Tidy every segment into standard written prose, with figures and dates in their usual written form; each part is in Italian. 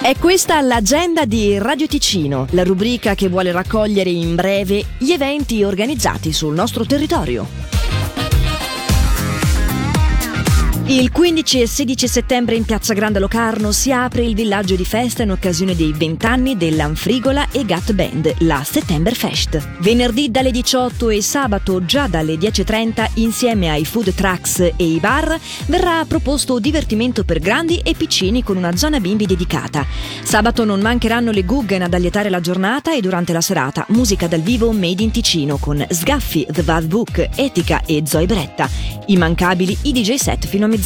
È questa l'agenda di Radio Ticino, la rubrica che vuole raccogliere in breve gli eventi organizzati sul nostro territorio. Il 15 e 16 settembre in Piazza Grande Locarno si apre il villaggio di festa in occasione dei 20 anni dell'Anfrigola e Gat Band, la Settemberfest. Venerdì dalle 18 e sabato già dalle 10.30 insieme ai food trucks e i bar verrà proposto divertimento per grandi e piccini con una zona bimbi dedicata. Sabato non mancheranno le Guggen ad allietare la giornata e durante la serata musica dal vivo made in Ticino con Sgaffi, The Bad Book, Etica e Zoe Bretta. Immancabili i DJ set fino a mezzanotte.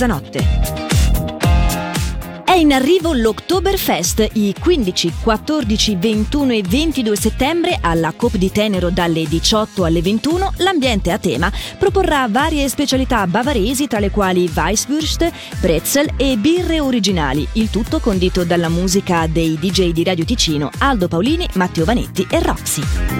È in arrivo l'Oktoberfest i 15, 14, 21 e 22 settembre alla Coop di Tenero dalle 18 alle 21. L'ambiente a tema proporrà varie specialità bavaresi tra le quali Weisswurst, pretzel e birre originali, il tutto condito dalla musica dei DJ di Radio Ticino Aldo Paolini, Matteo Vanetti e Roxy.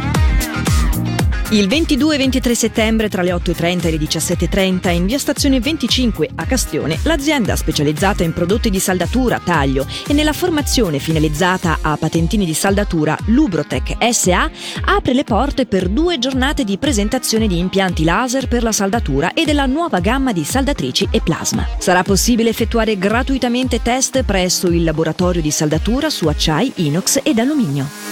Il 22 e 23 settembre tra le 8.30 e le 17.30 in via Stazione 25 a Castione, l'azienda specializzata in prodotti di saldatura, taglio e nella formazione finalizzata a patentini di saldatura Lubrotec SA apre le porte per 2 giornate di presentazione di impianti laser per la saldatura e della nuova gamma di saldatrici e plasma. Sarà possibile effettuare gratuitamente test presso il laboratorio di saldatura su acciai, inox ed alluminio.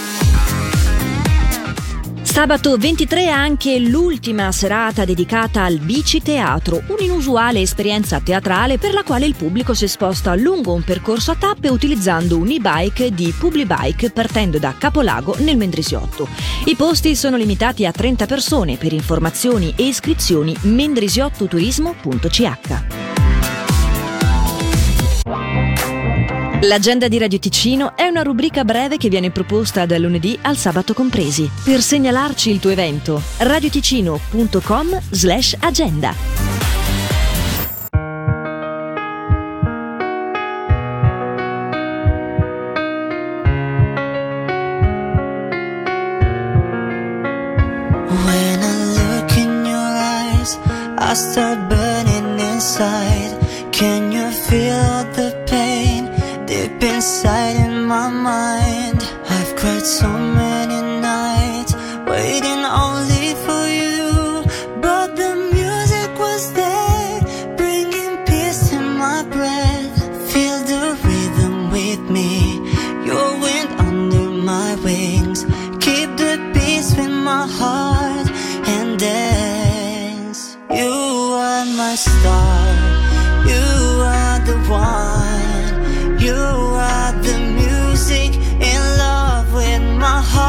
Sabato 23 è anche l'ultima serata dedicata al biciteatro, un'inusuale esperienza teatrale per la quale il pubblico si sposta lungo un percorso a tappe utilizzando un e-bike di Publibike partendo da Capolago nel Mendrisiotto. I posti sono limitati a 30 persone. Per informazioni e iscrizioni mendrisiottoturismo.ch. L'agenda di Radio Ticino è una rubrica breve che viene proposta dal lunedì al sabato compresi. Per segnalarci il tuo evento, radioticino.com/agenda. When I look in your eyes, I start burning inside. Can you feel the pain deep inside in my mind? I've cried so many nights waiting only for you, but the music was there, bringing peace in my breath. Feel the rhythm with me, your wind under my wings. Keep the peace with my heart and dance. You are my star, you are the one. You are the music in love with my heart.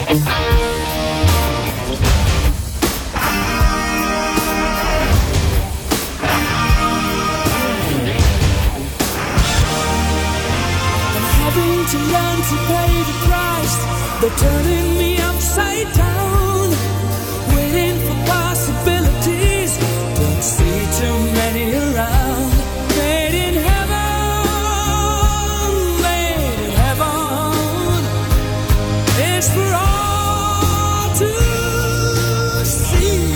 To learn to pay the price, they're turning me upside down, waiting for possibilities, don't see too many around. Made in heaven, it's for all to see.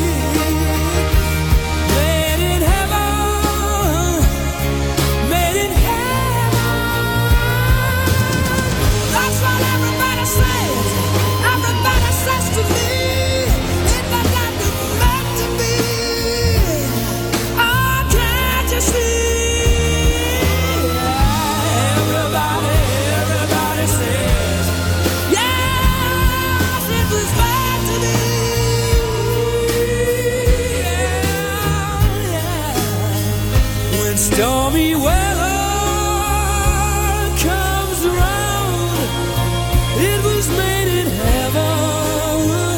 Made in heaven, made in That's what everybody says. Everybody says to me, it might not be meant to be. Oh, can't you see? Everybody says, yes, it was meant to be. Yeah. When stormy weather comes around, it was made in heaven.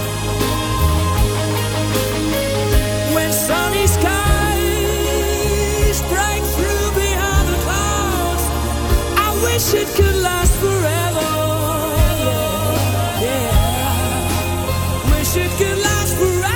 When sunny skies break through behind the clouds, I wish it could last forever. Yeah, wish it could last forever.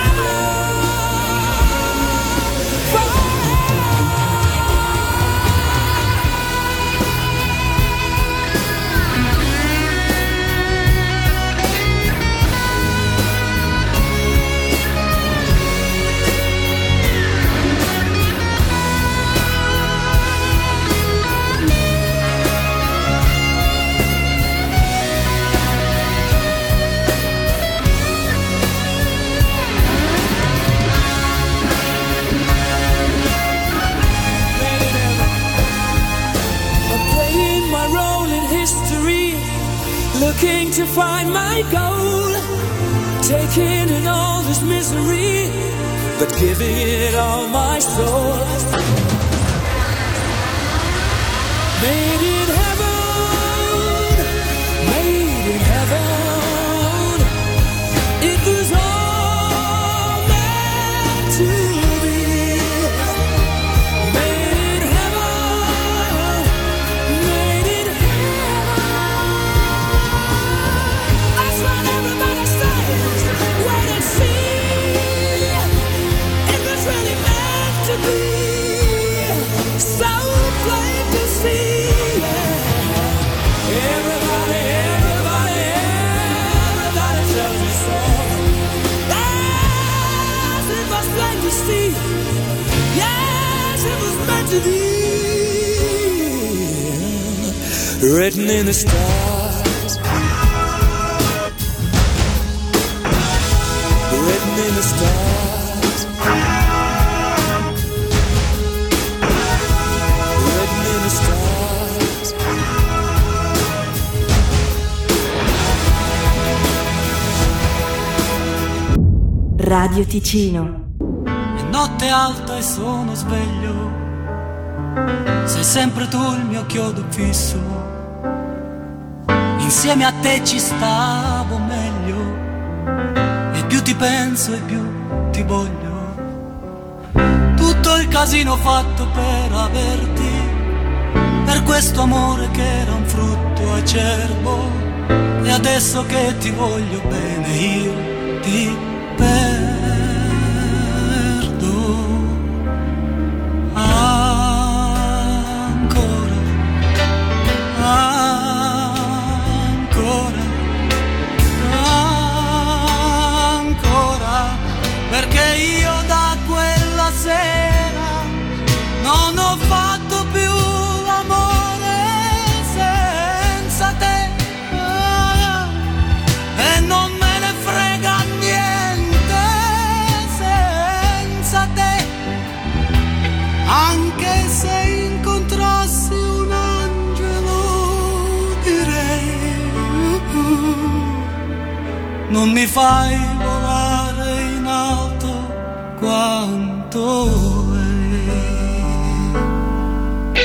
Looking to find my goal, taking in all this misery, but giving it all my soul. Made in heaven, made in heaven, it was all meant to be. Made in heaven, made in everybody says, wait and see, it was really meant to be, so plain to see, yeah. Everybody tells me so, yes, it was plain to see, yes, it was meant to be, written in the stars. Written in the stars. Written in the stars. Radio Ticino. È notte alta e sono sveglio, sei sempre tu il mio chiodo fisso, insieme a te ci stavo meglio, più ti penso e più ti voglio. Tutto il casino fatto per averti, per questo amore che era un frutto acerbo, e adesso che ti voglio bene io ti perdo. Perché io da quella sera non ho fatto più l'amore senza te, e non me ne frega niente senza te, anche se incontrassi un angelo direi non mi fai volare in alto quanto lei.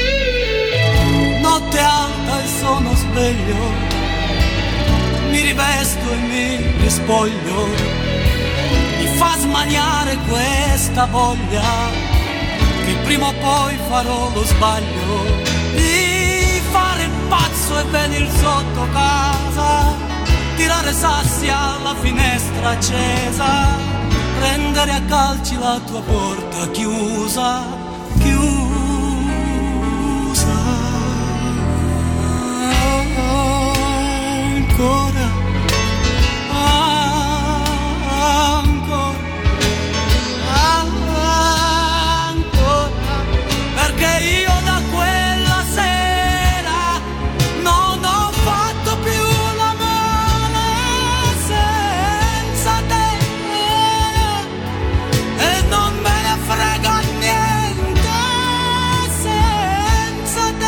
Notte alta e sono sveglio, mi rivedo presto e mi rispoglio, mi fa smaniare questa voglia che prima o poi farò lo sbaglio di fare il pazzo e venir sotto casa, tirare sassi alla finestra accesa, prendere a calci la tua porta chiusa, chiusa. Ancora, ancora, ancora, perché io da quella sera non ho fatto più l'amore senza te, e non me ne frega niente senza te.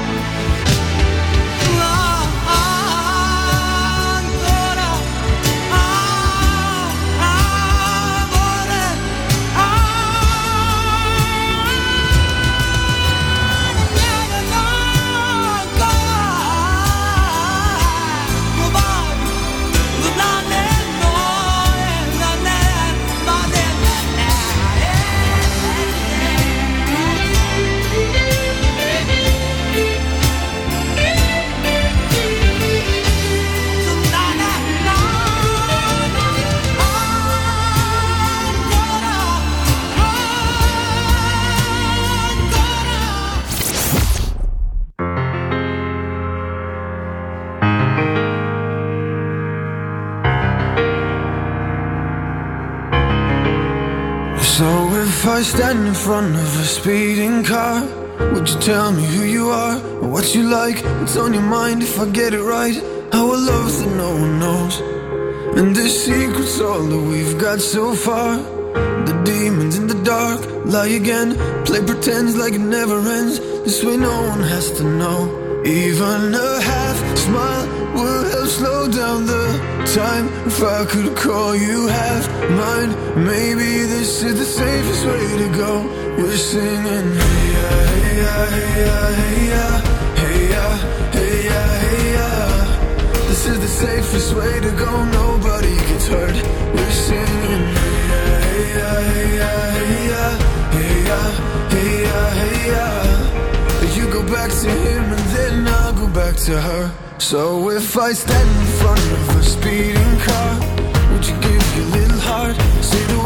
So if I stand in front of a speeding car, would you tell me who you are, or what you like, what's on your mind? If I get it right, our love that no one knows, and the secret's all that we've got so far. The demons in the dark lie again, play pretends like it never ends. This way no one has to know. Even a half smile would help slow down the time. If I could call you half mine, maybe this is the safest way to go. We're singing hey ya, hey ya, hey ya, hey ya, hey ya, hey ya, hey ya. This is the safest way to go, nobody gets hurt. We're singing hey ya, hey ya, hey ya, hey ya, hey ya, hey ya, hey ya. You go back to him and then I'll go back to her. So if I stand in front of a speeding car, would you give your little heart, say the